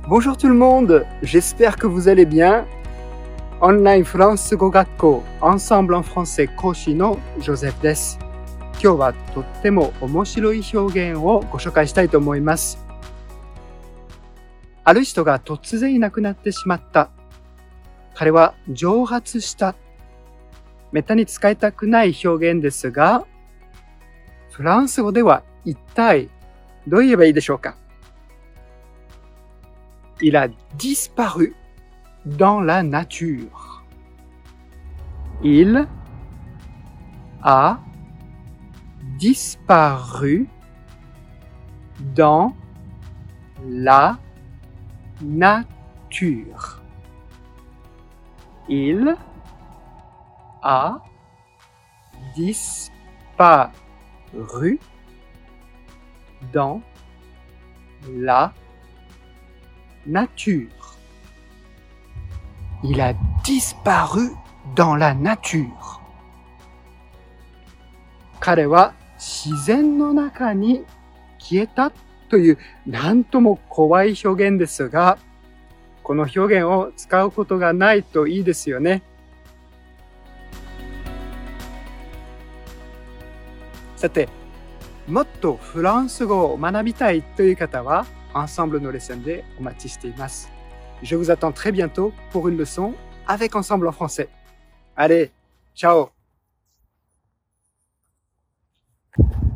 Bonjour tout le monde, j'espère que vous allez bien. Online フランス語学校 Ensemble en français 講師のジョゼフです。今日はとっても面白い表現をご紹介したいと思います。ある人が突然いなくなってしまった。彼は蒸発した。めったに使いたくない表現ですが、フランス語では一体どう言えばいいでしょうか。Il a disparu dans la nature. Il a disparu dans la nature. Il a disparu dans la nature. Il a disparu dans la nature. 彼は自然の中に消えたというなんとも怖い表現ですが、この表現を使うことがないといいですよね。さて、もっとフランス語を学びたいという方は、Ensemble nos leçons deお待ちしています。Je vous attends très bientôt pour une leçon avec Ensemble en français. Allez, ciao!